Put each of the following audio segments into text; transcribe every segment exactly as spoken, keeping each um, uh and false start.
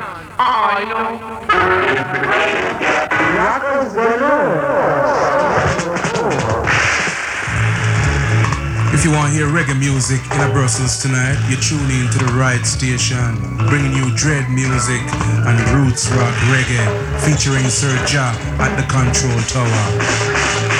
I know. If you want to hear reggae music in Brussels tonight, you're tuning into the right station, bringing you dread music and roots rock reggae, featuring Sir Ja at the Control Tower.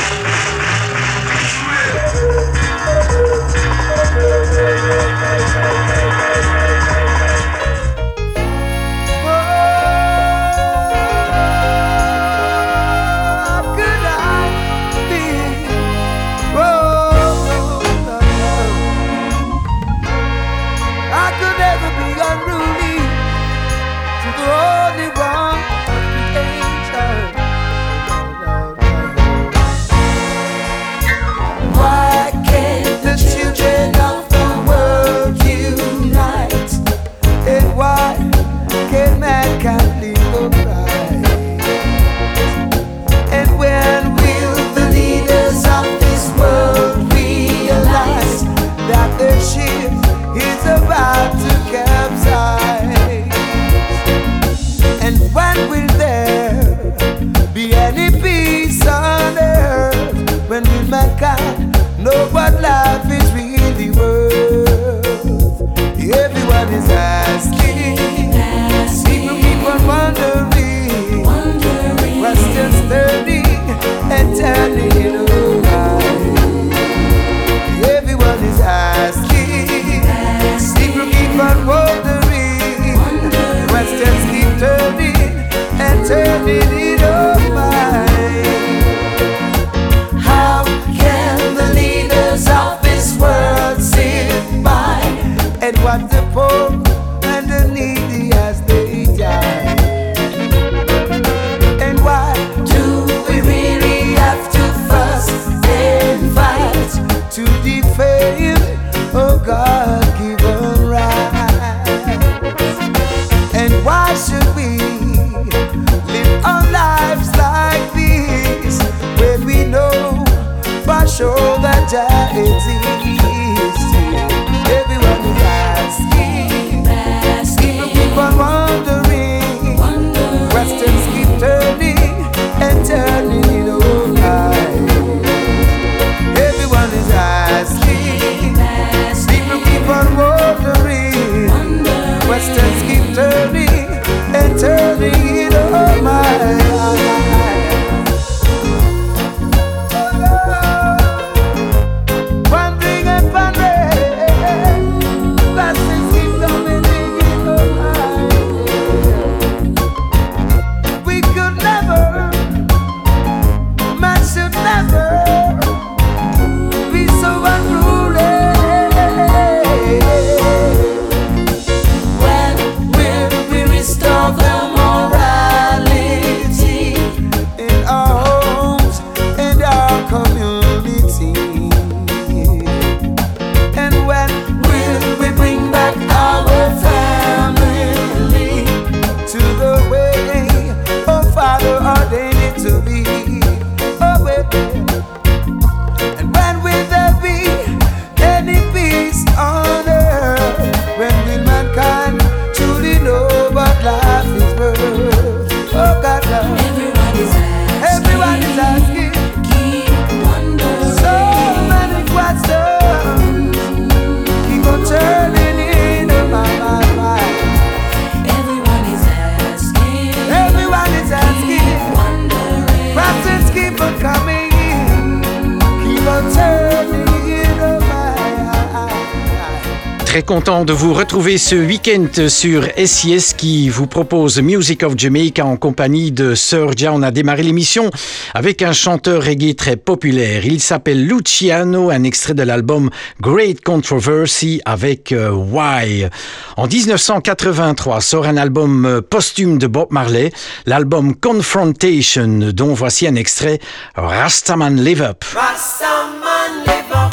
Très content de vous retrouver ce week-end sur S I S qui vous propose Music of Jamaica en compagnie de Sir Ja. On a démarré l'émission avec un chanteur reggae très populaire. Il s'appelle Luciano, un extrait de l'album Great Controversy avec euh, Why. En dix-neuf cent quatre-vingt-trois sort un album euh, posthume de Bob Marley, l'album Confrontation, dont voici un extrait, Rastaman Live Up. Rastaman Live Up.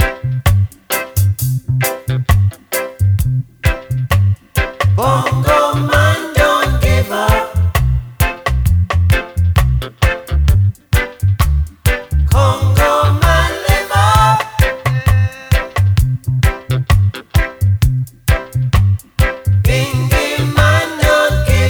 Bongo man, don't give up. Congo man, live up. Bingy man, don't give up.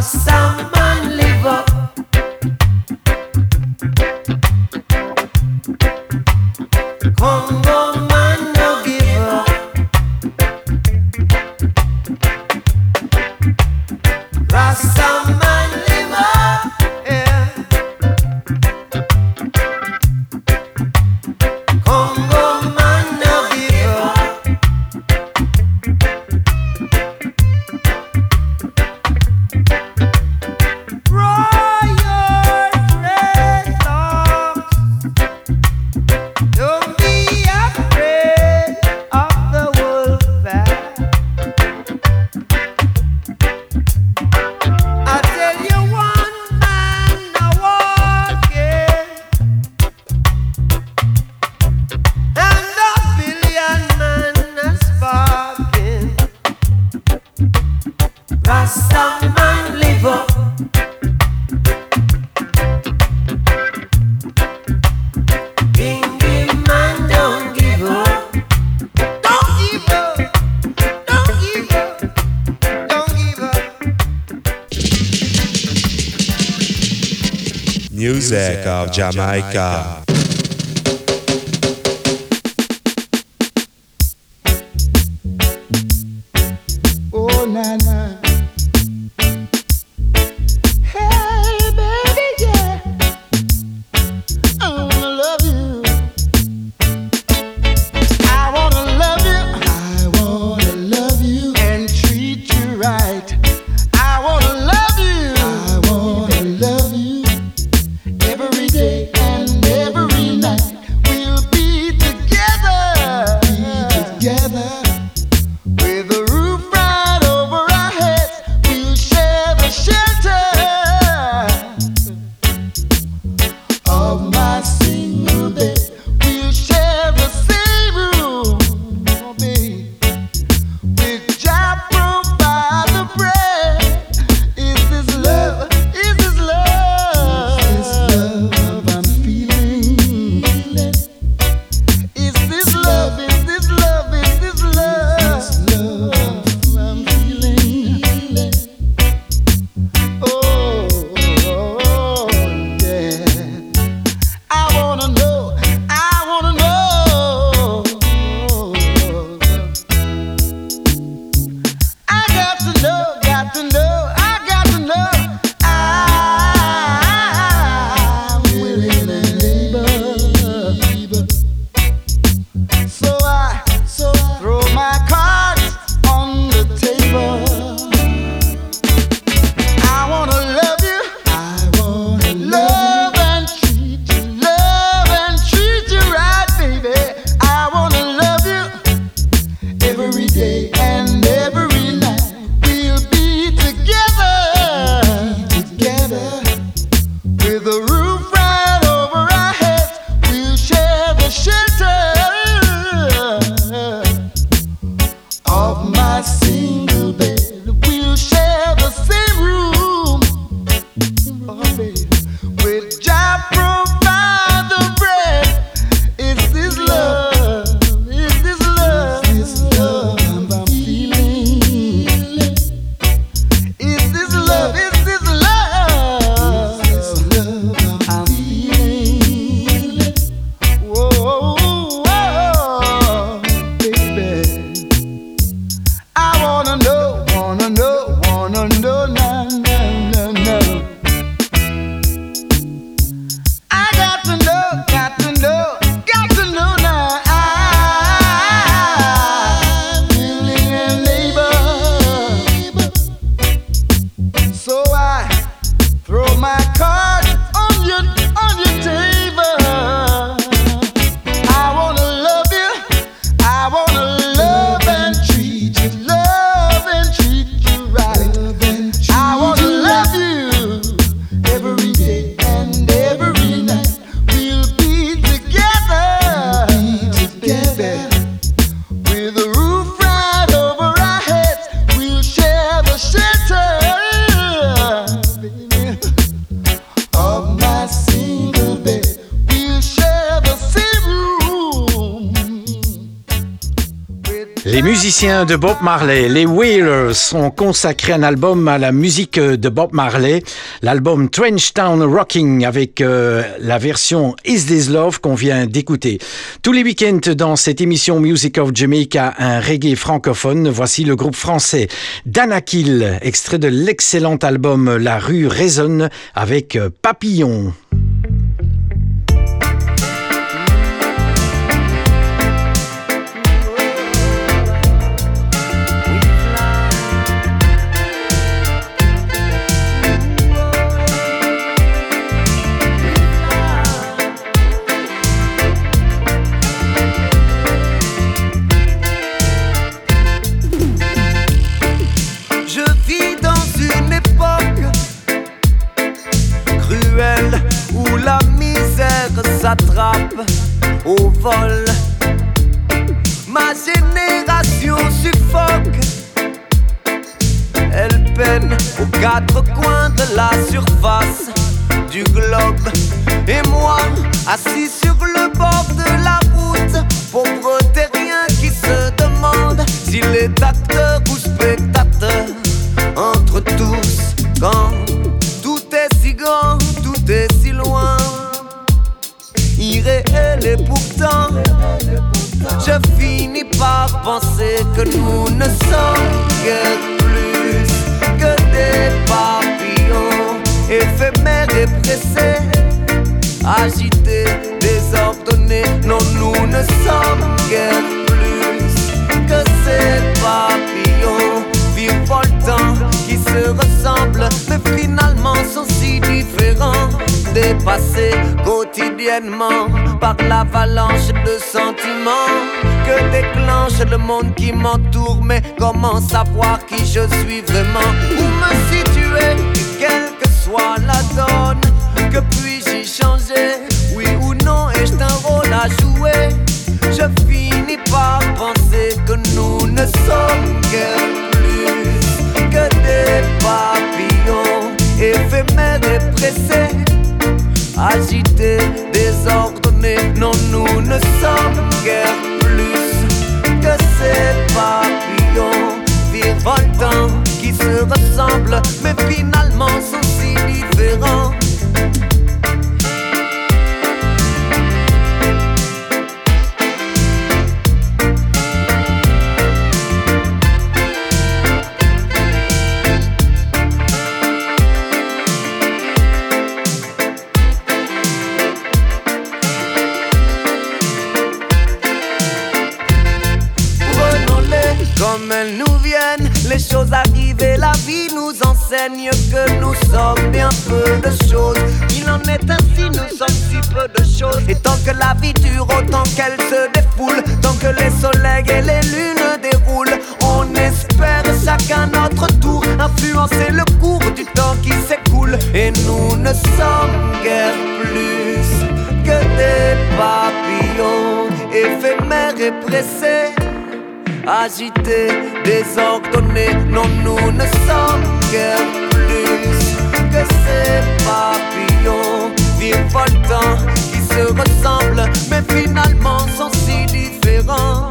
Rasta man live up. Congo man no give up. Rasta man live up, yeah. Congo man no give up. Royal dreadlocks, don't be afraid of the wolf pack. I tell you, one man a walking, and a billion man a sparking. Rasta man live up. Bingy man don't give up. Don't give up. Don't give up. Don't give up. Music of Jamaica. Oh, na na. Hey, baby, yeah. I wanna love you. I wanna love you. I wanna love you and treat you right. I wanna love you. I wanna love you every day and every Les musiciens de Bob Marley, les Wailers, ont consacré un album à la musique de Bob Marley, l'album Trench Town Rocking avec euh, la version Is This Love qu'on vient d'écouter. Tous les week-ends dans cette émission Music of Jamaica, un reggae francophone, voici le groupe français Danakil, extrait de l'excellent album La rue résonne avec Papillon. S'attrape au vol. Ma génération suffoque. Elle peine aux quatre coins de la surface du globe. Et moi, assis sur le bord de la route, pauvre terrien qui se demande s'il est acteur ou spectateur. Entre tous, quand tout est si grand, tout est si loin, irréel et pourtant je finis par penser que nous ne sommes guère plus que des papillons éphémères et pressés, agités, désordonnés. Non, nous ne sommes guère plus que ces papillons virevoltants qui se ressemblent mais finalement sont si différents, dépassés quotidiennement par l'avalanche de sentiments que déclenche le monde qui m'entoure. Mais comment savoir qui je suis vraiment? Où me situer? Quelle que soit la donne, que puis-je y changer? Oui ou non, ai-je un rôle à jouer? Je finis par penser que nous ne sommes guère plus que des papillons éphémères et pressés, agités, désordonnés. Non, nous ne sommes guère plus que ces papillons virevoltants qui se ressemblent mais finalement sont si différents. Comme elles nous viennent, les choses arrivent et la vie nous enseigne que nous sommes bien peu de choses. Il en est ainsi, nous sommes si peu de choses. Et tant que la vie dure, autant qu'elle se défoule, tant que les soleils et les lunes déroulent, on espère chacun notre tour influencer le cours du temps qui s'écoule. Et nous ne sommes guère plus que des papillons éphémères et pressés, agités, désordonnés. Non, nous ne sommes guère plus que ces papillons virevoltants qui se ressemblent mais finalement sont si différents.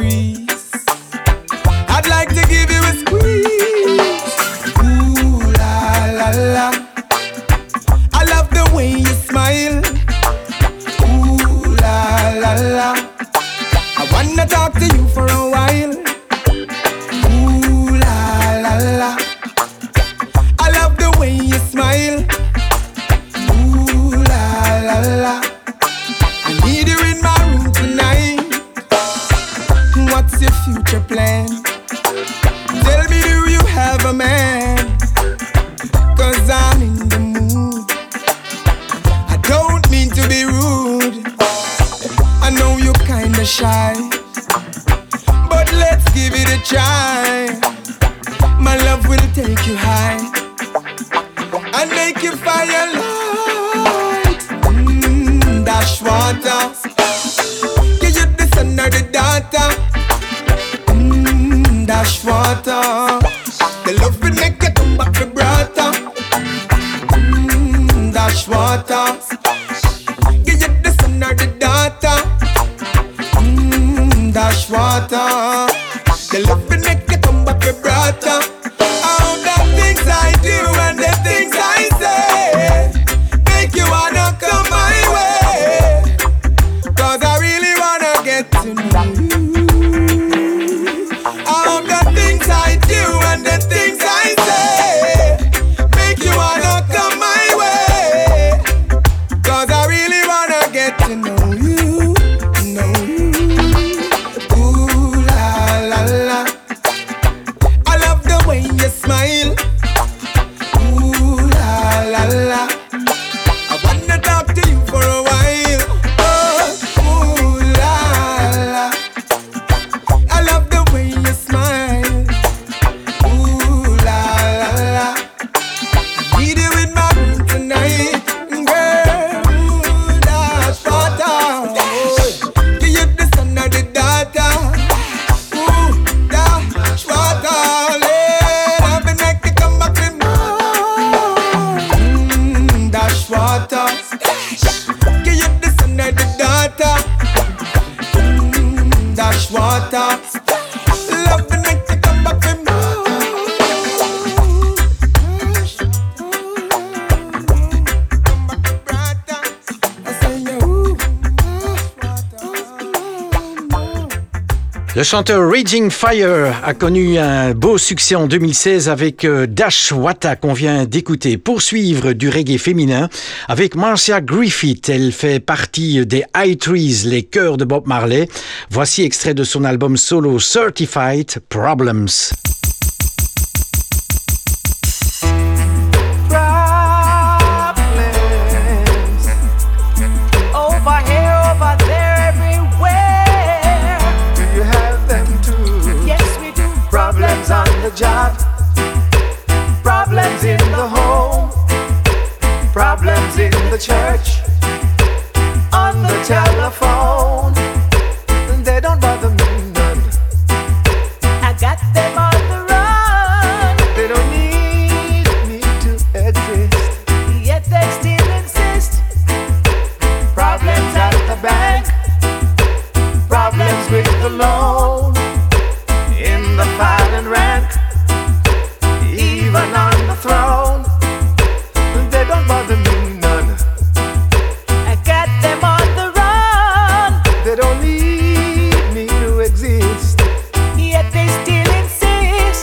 I'd like to give you a squeeze. Ooh la to you for a while. Ooh la la la. I love the way you smile. Ooh la la la. I need you in my room tonight. What's your future plan? Tell me, do you have a man? Cause I'm in the mood. I don't mean to be rude. I know you're kinda shy, but let's give it a try. My love will take you high and make you firelight. Mmm, dash water. Give you the sun or the daughter. Mmm, dash water. The love will make you come back to brother. Mmm, dash water. Give you the sun or the daughter. Mmm, dash water. The love will make you come back to brother. All the things I do and the things I say make you wanna come my way. Cause I really wanna get to know you. All the things I do and the things I say make you wanna come my way. Cause I really wanna get to know you, know you. Ooh la la la. I love the way you smile. Ooh la la la. I wanna talk to you for a while. Oh, ooh la la. I love the way you smile. Ooh la la la. I need you in my room tonight, girl. Ooh, dash water. Give you the sun or the daughter. Ooh, dash water. Let I've been like to come back with more. Mmm, dash water. Give you the sun or the daughter. Mmm, dash water. Love the night to come back with more. Come back with brother. I say yeah, ooh, Le chanteur Raging Fire a connu un beau succès en deux mille seize avec euh, Dash Wata qu'on vient d'écouter. Poursuivre du reggae féminin avec Marcia Griffith. Elle fait partie des High Trees, les chœurs de Bob Marley. Voici extrait de son album solo Certified Problems. Problems over here, over there, everywhere. Do you have them too? Yes, we do. Problems on the job, problems in the home, problems in the church, on the telephone. They don't bother me none. I got them on the run, They don't need me to exist. yet they still insist. Problems at the bank, problems with the loan, in the file and rank, even on the throne. They don't bother me none. I got them on the run, They don't need me to exist. yet they still insist.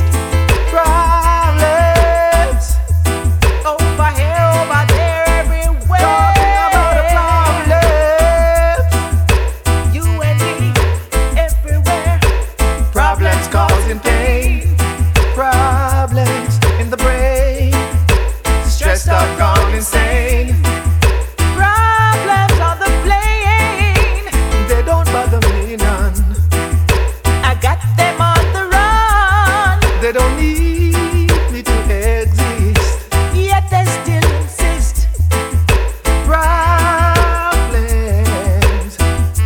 Problems, Over here, over there, everywhere. talking about the problems. You and me, everywhere. Problems causing pain, problems in the brain, stressed out, gone insane. Problems on the plane. They don't bother me none. I got them on the run, They don't need me to exist. yet they still insist. Problems,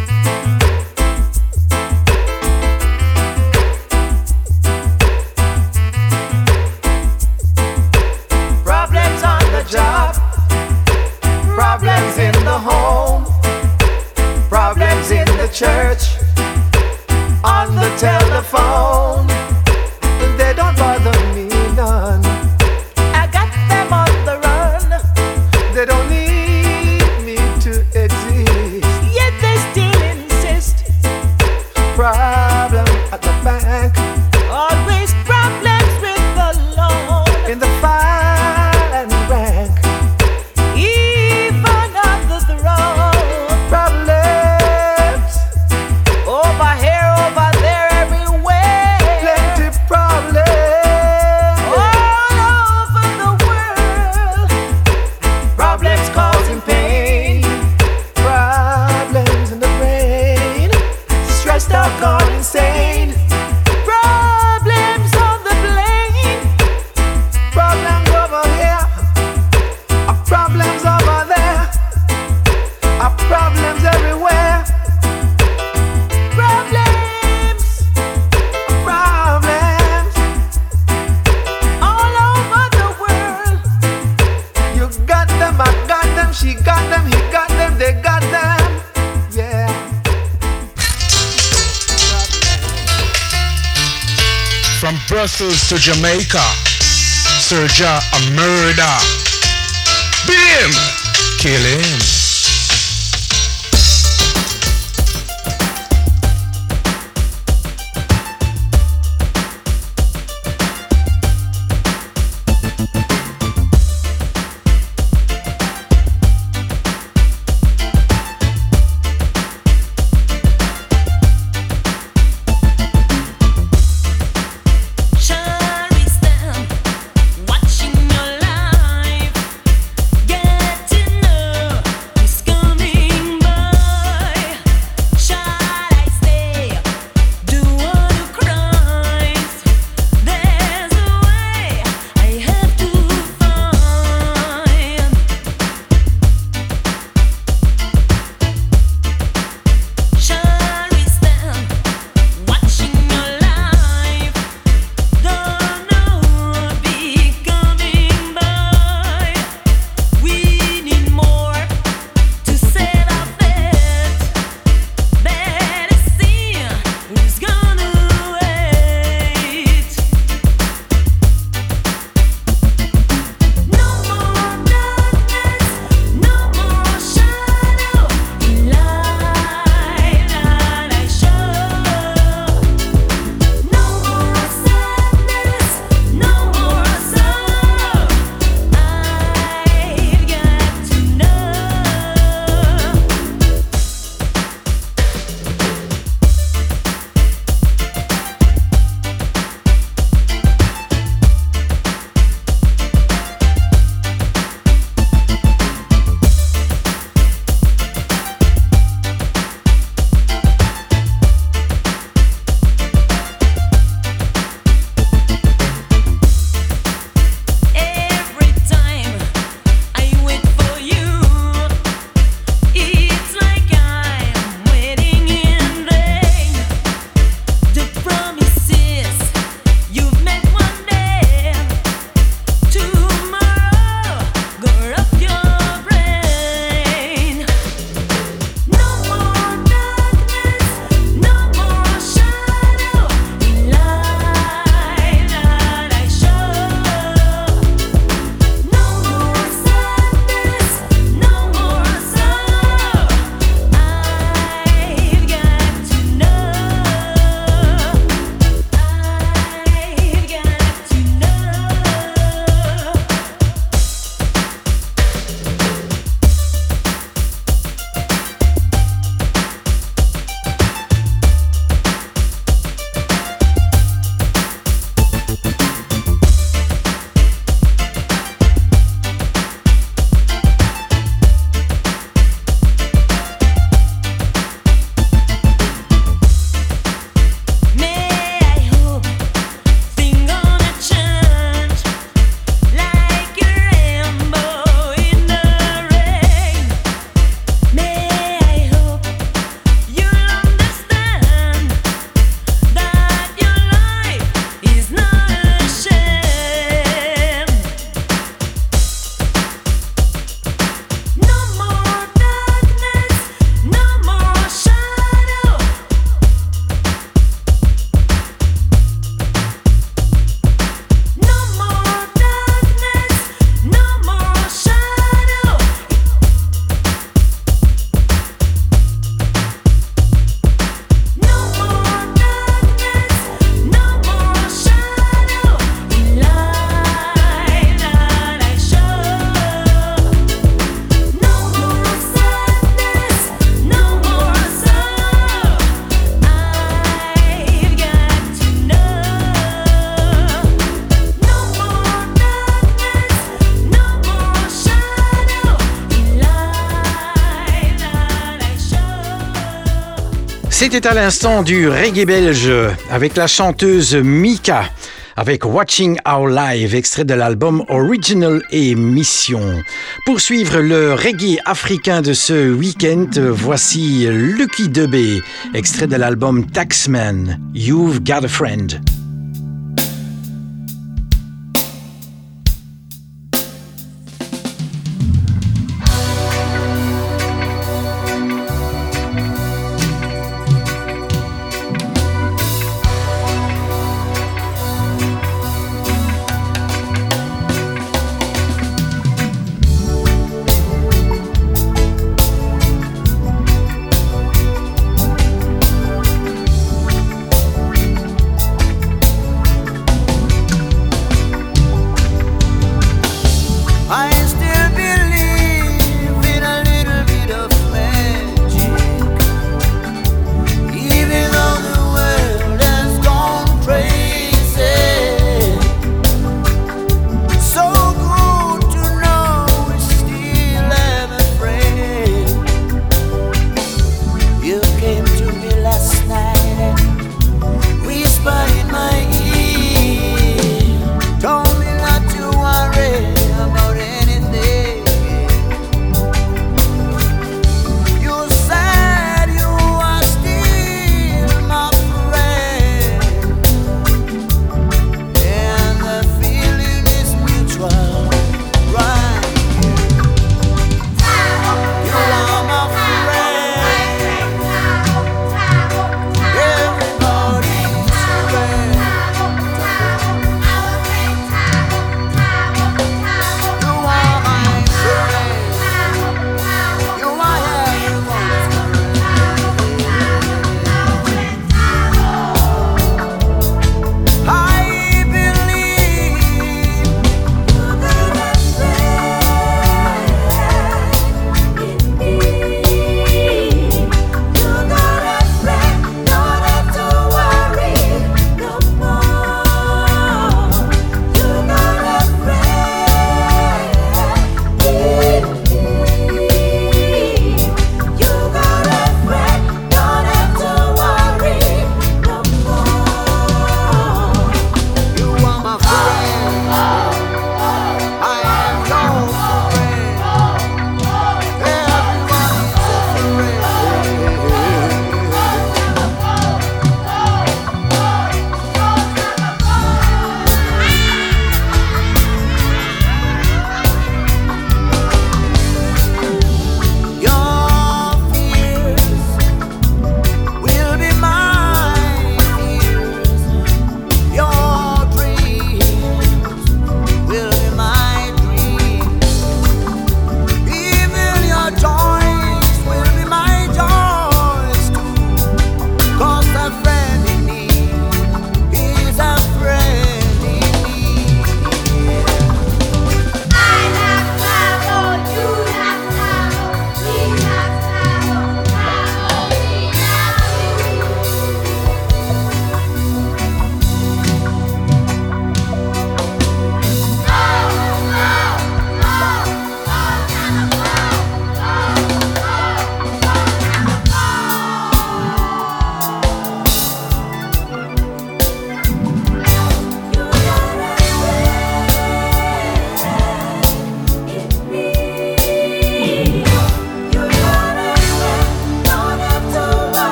Problems on the job, problems in the home, problems in the church, on the telephone. They don't bother me none. I got them on the run, They don't need me to exist. yet they still insist. Problems. Brussels to Jamaica. Sir Ja a murder. Beat him. Kill him. C'était à l'instant du reggae belge avec la chanteuse Mika avec Watching Our Live, extrait de l'album Original et Mission. Pour suivre le reggae africain de ce week-end, voici Lucky Dubé, extrait de l'album Taxman, You've Got a Friend.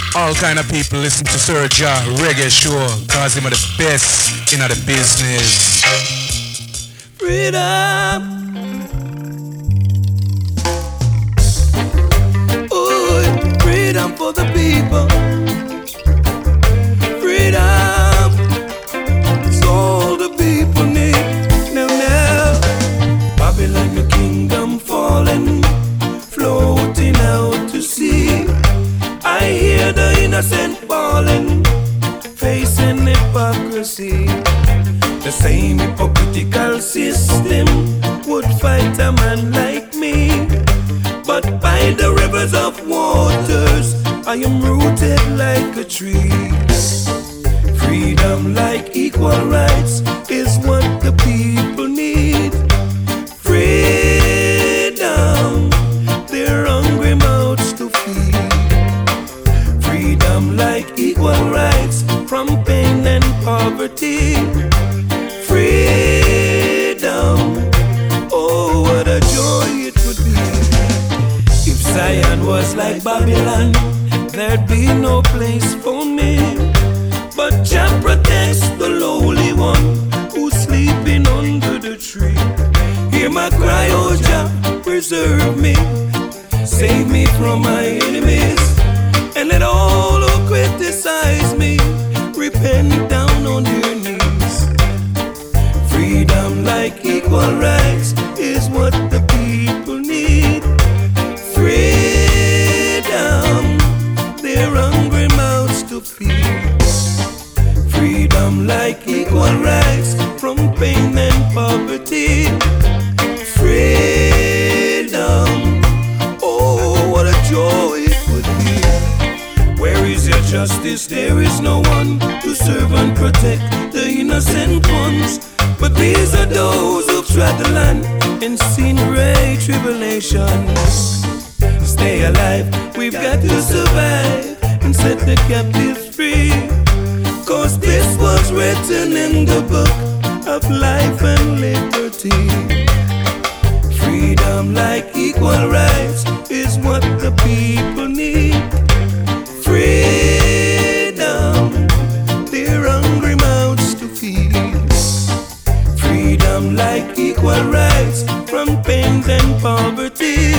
all kind of people listen to Sir Ja Reggae Show, cause him are the best in the business. Freedom. Ooh, freedom for the people. Freedom. It's all the people need. Now, now, Babylon, your kingdom falling, floating out to sea. I hear the innocent bawling, facing hypocrisy. The same hypocritical system would fight a man like me. But by the rivers of waters, I am rooted like a tree. Freedom like equal rights is what the people need. Freedom, their hungry mouths to feed. Freedom like equal rights from pain and poverty. Freedom, oh what a joy it would be. If Zion was like Babylon, there'd be no place for me. But Jah protects the lowly one who's sleeping under the tree. Hear my cry, oh Jah, preserve me, save me from my enemies, and let all who criticize me repent down on their knees. Freedom like equal rights is what the people need. Freedom, their hungry mouths to feed. Freedom like equal rights from pain and poverty. Freedom, oh what a joy it would be. Where is your justice? There is no one to serve and protect the innocent ones. But these are those who've trod the land and seen great tribulations. Stay alive, we've got to survive and set the captives free. Cause this was written in the book of life and liberty. Freedom like equal rights is what the people need. Freedom, their hungry mouths to feed. Freedom like equal rights from pain and poverty.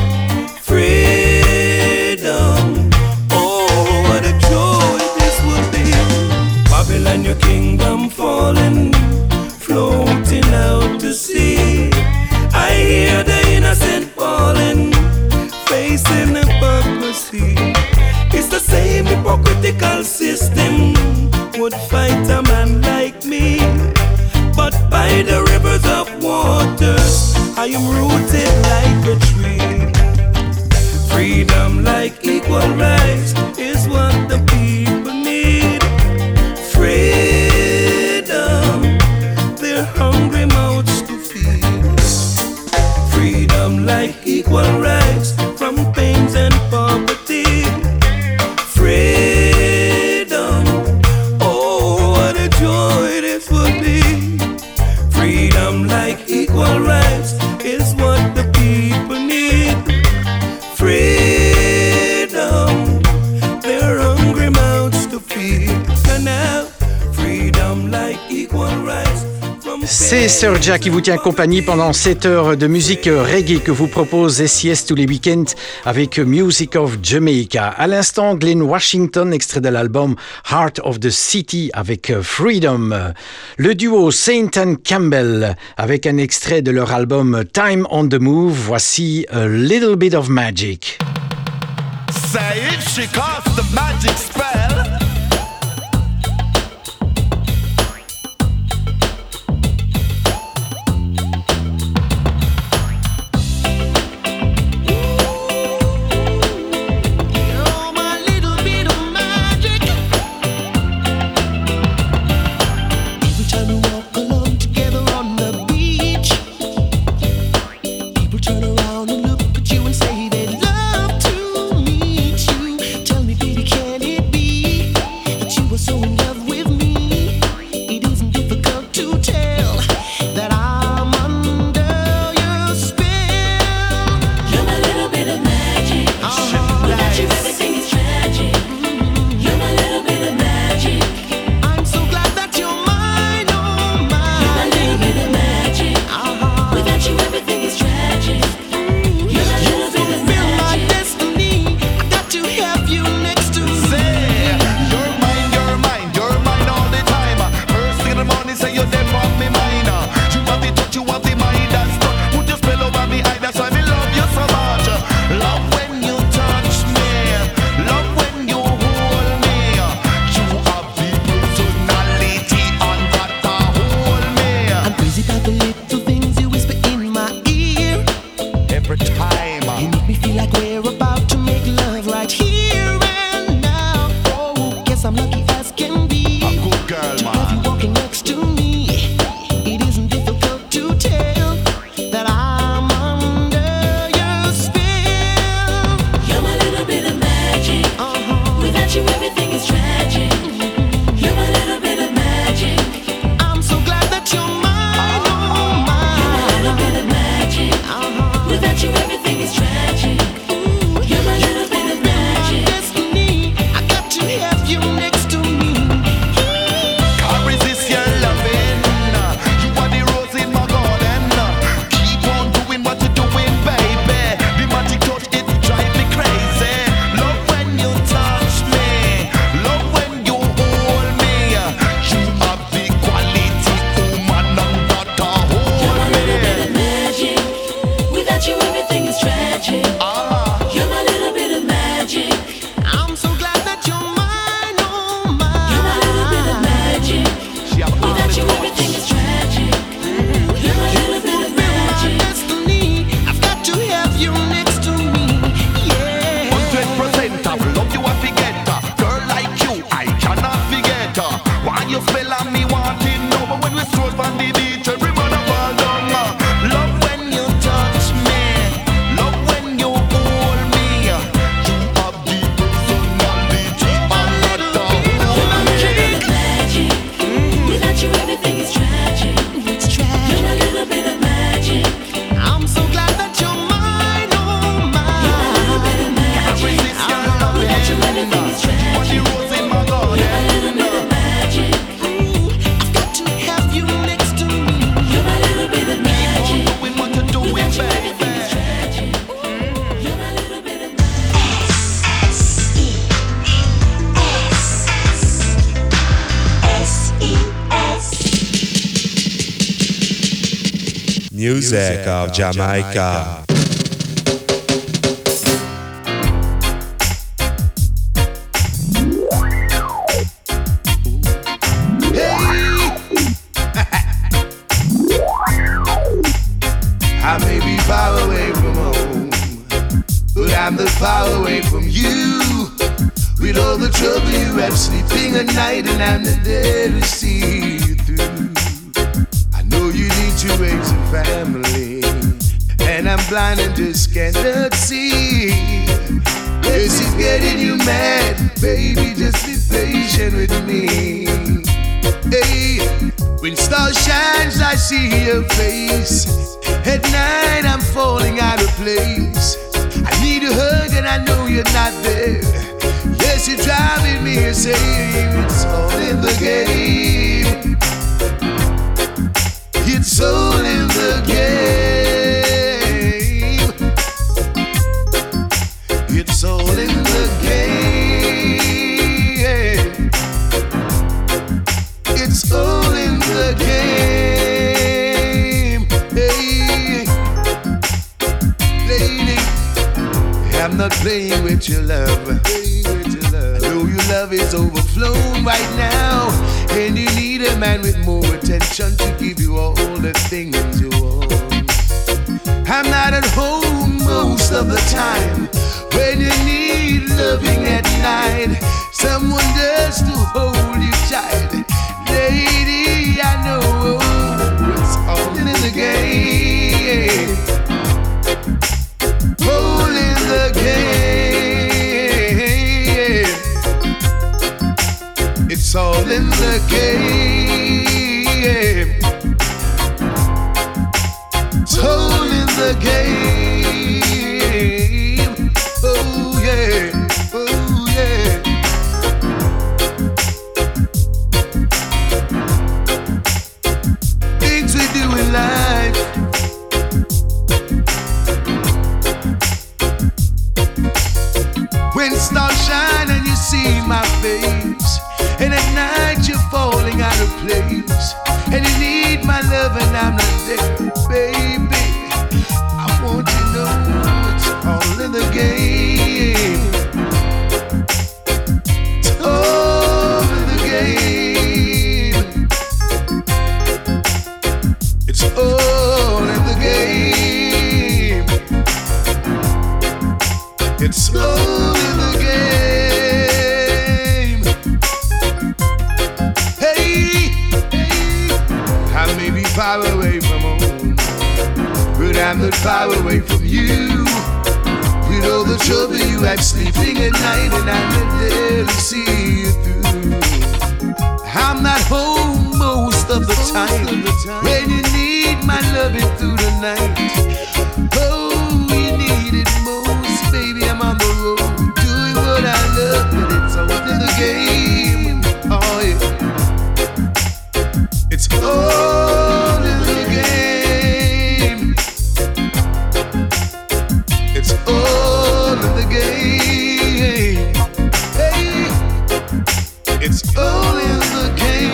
Freedom, oh what a joy this would be. Babylon, your kingdom falling, floating out to sea. I hear the innocent falling, facing hypocrisy. It's the same hypocritical system would fight a man like me. But by the rivers of waters, I am rooted like a tree. Freedom like equal rights is what the people need. Freedom, their hungry mouths to feed. Freedom like equal rights from pains and poverty. Freedom, oh what a joy this would be. Freedom like equal rights is what the people need. Freedom, their hungry mouths to feed. And now, freedom like equal rights. C'est Sir Ja qui vous tient compagnie pendant sept heures de musique reggae que vous propose S I S tous les week-ends avec Music of Jamaica. À l'instant, Glen Washington, extrait de l'album Heart of the City avec Freedom. Le duo Saint and Campbell avec un extrait de leur album Time on the Move. Voici A Little Bit of Magic. Say if she casts the magic spell. Say they'd love to meet you. Tell me, baby, can it be? time. You make me feel like we're about to make love right here and now. Oh, guess I'm lucky as can be. A good girl, to man. have you walking next to me. It isn't difficult to tell that I'm under your spell. You're my little bit of magic. Uh-huh. Without you, everything is tragic. You're my little bit of magic. I'm so glad that you're mine, oh mine. You're my little bit of magic. Uh-huh. Without you, everything is tragic. Ooh, You're my little bit of magic. destiny. I got to have you next to me. Can't resist your loving. You are the rose in my garden. Keep on doing what you're doing, baby. The magic touch, it drives me crazy. Love when you touch me. Love when you hold me. You have the quality woman, none but to You're hold my little bit of me. magic. Without you, everything is tragic. Ah, You're my little bit of magic. I'm so glad that you're mine, oh You're my little bit of mine. magic. she have all Without the you, touch. everything is tragic. You're my little bit of magic. Destiny. I've got to have you next to me. Yeah. Hundred percent of love you I forget. Girl like you, I cannot forget. Why you spell on me wanting no, but when we stroll on the beach, every man a fall down. Love when you touch me, love when you hold me. You have the personality, I'm not the You're my whole little bit me. of magic. Without you, everything is tragic. It's You're tragic. my little bit of magic. I'm so glad that you're mine, oh You're my little bit of mine. Can't magic. resist your love. Without you, everything is You are the tragic. rose in my You're my little bit garden. of magic. Ooh, I've got to have you next to me. You're my little bit of magic. Doing what you're doing, Without you, everything is baby. tragic. You're my little bit of magic. Music of Jamaica. I may be far away from home, but I'm not far away from you. With all the trouble you have sleeping at night, and I'm not there to see you through. I know you need to raise a family, and I'm blind and just cannot see. This is getting you mad, baby, just be patient with me. Hey, when star shines, I see your face. At night, I'm falling out of place. I need a hug, and I know you're not there. Yes, you're driving me insane. It's all in the game. It's all in the game. It's all in the game. It's all in the game. Hey, lady, I'm not playing with your love. I know your love is overflowing right now, and you need a man with more attention to give you all the things you want. I'm not at home most of the time. When you need loving at night, someone just to hold you tight. Lady, I know it's all in the game. All in the game. It's all in the game. It's all in the game. Oh yeah, oh yeah. Things we do in life. When stars shine and you see my face, and at night you're falling out of place, and you need my love and I'm not there, baby. I want you to know it's all in the game. It's all in the game. It's all in the game. It's all in the game. Hey, hey, I may be far away from home, but I'm not far away from you. With all the trouble you have sleeping at night, and I'm not there to see you through. I'm not home most of the time when you need my loving through the night. Oh, you need it most, baby. I'm on the road doing what I love, but it's all in the game. Oh yeah, it's all in the game. It's all in the game. Hey, it's all in the game.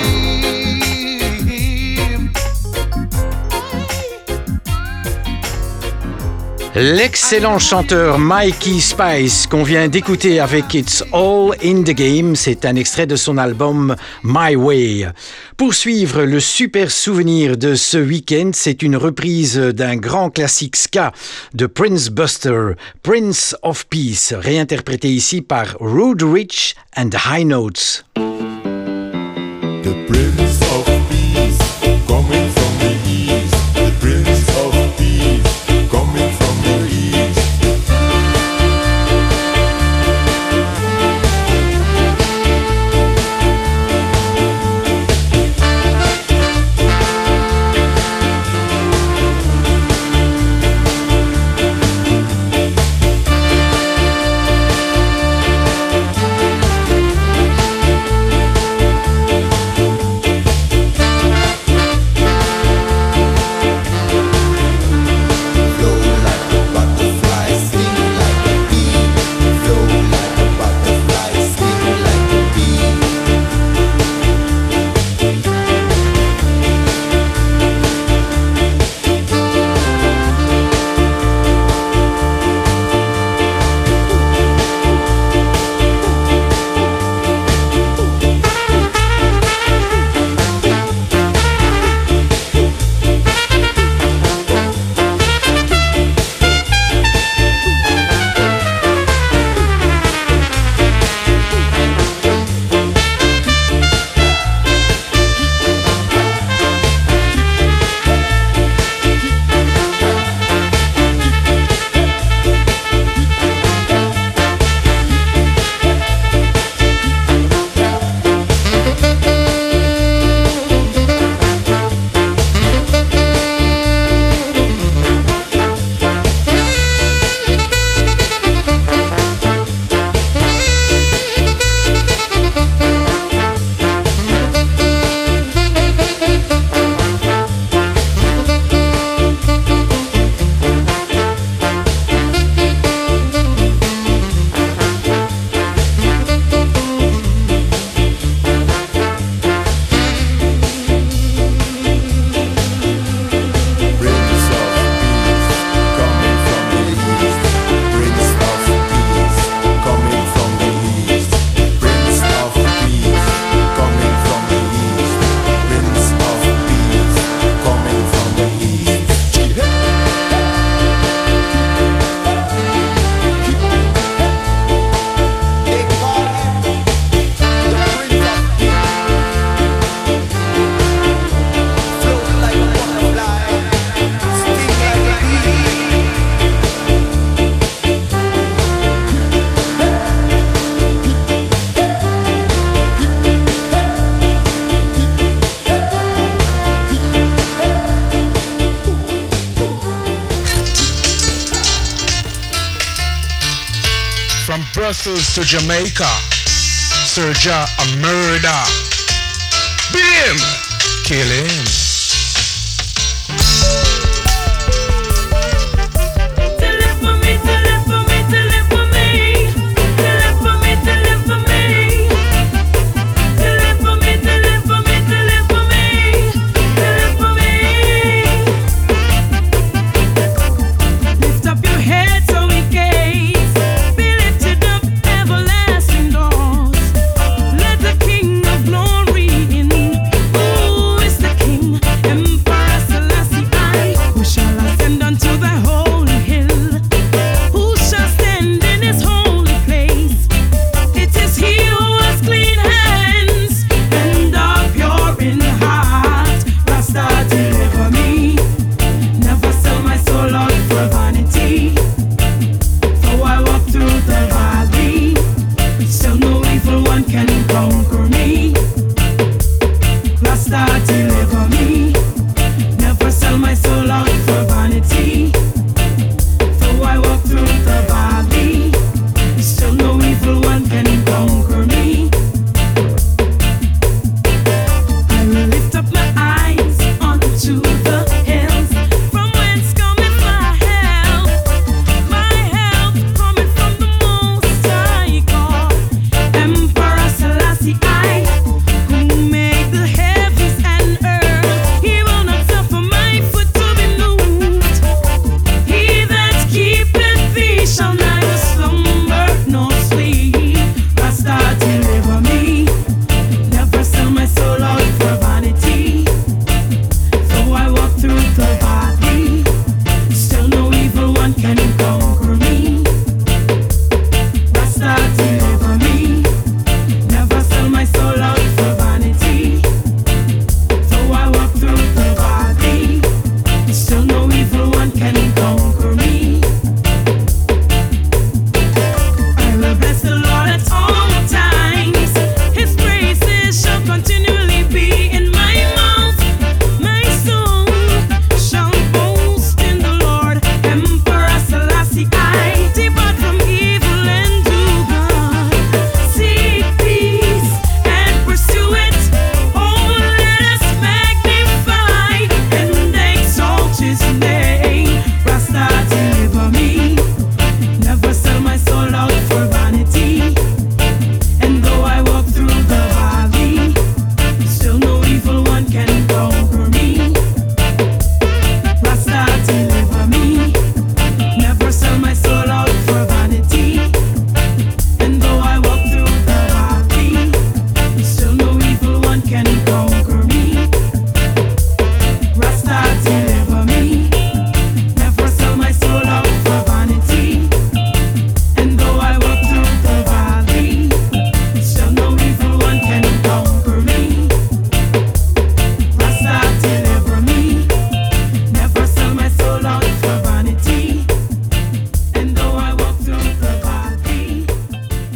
L'excellent chanteur Mikey Spice qu'on vient d'écouter avec It's All in the Game, c'est un extrait de son album My Way. Pour suivre le super souvenir de ce week-end, c'est une reprise d'un grand classique ska de Prince Buster, Prince of Peace, réinterprété ici par Rude Rich and High Notes. The Prince of Peace, coming from the east. The Prince of Peace, coming from the east. Brussels to Jamaica, Serja a murder. Beat him, kill him. King of glory in, who is the King?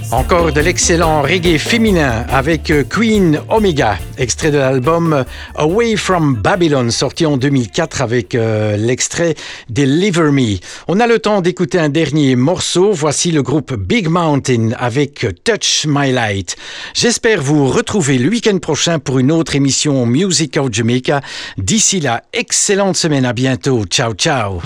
Encore de l'excellent reggae féminin avec Queen Omega, extrait de l'album Away from Babylon, sorti en deux mille quatre avec euh, l'extrait Deliver Me. On a le temps d'écouter un dernier morceau. Voici le groupe Big Mountain avec Touch My Light. J'espère vous retrouver le week-end prochain pour une autre émission Music of Jamaica. D'ici là, excellente semaine, à bientôt. Ciao, ciao.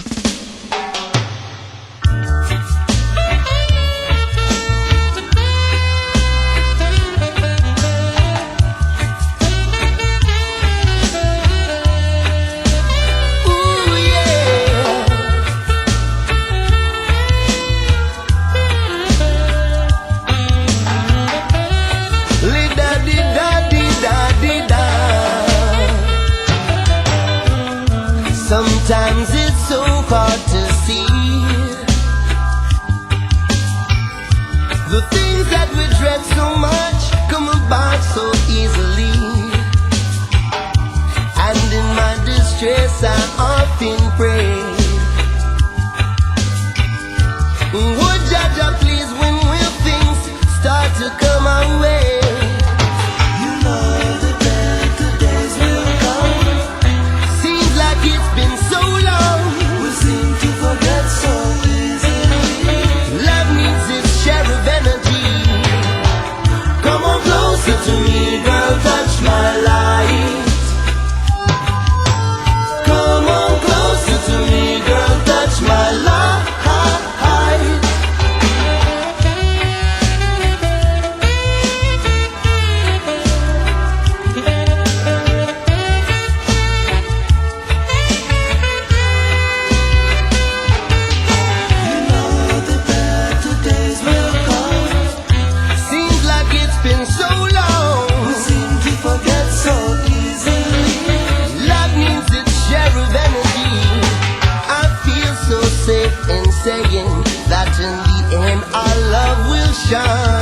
Sometimes it's so hard to see the things that we dread so much come about so easily. And in my distress I often pray, would Jah please when will things start to come our way? To me, girl, touch my light. Come on closer to me, girl, touch my light. You know the better days will come. Seems like it's been so long. We seem to forget so easily. Love needs its share of energy. I feel so safe in saying that in the end our love will shine.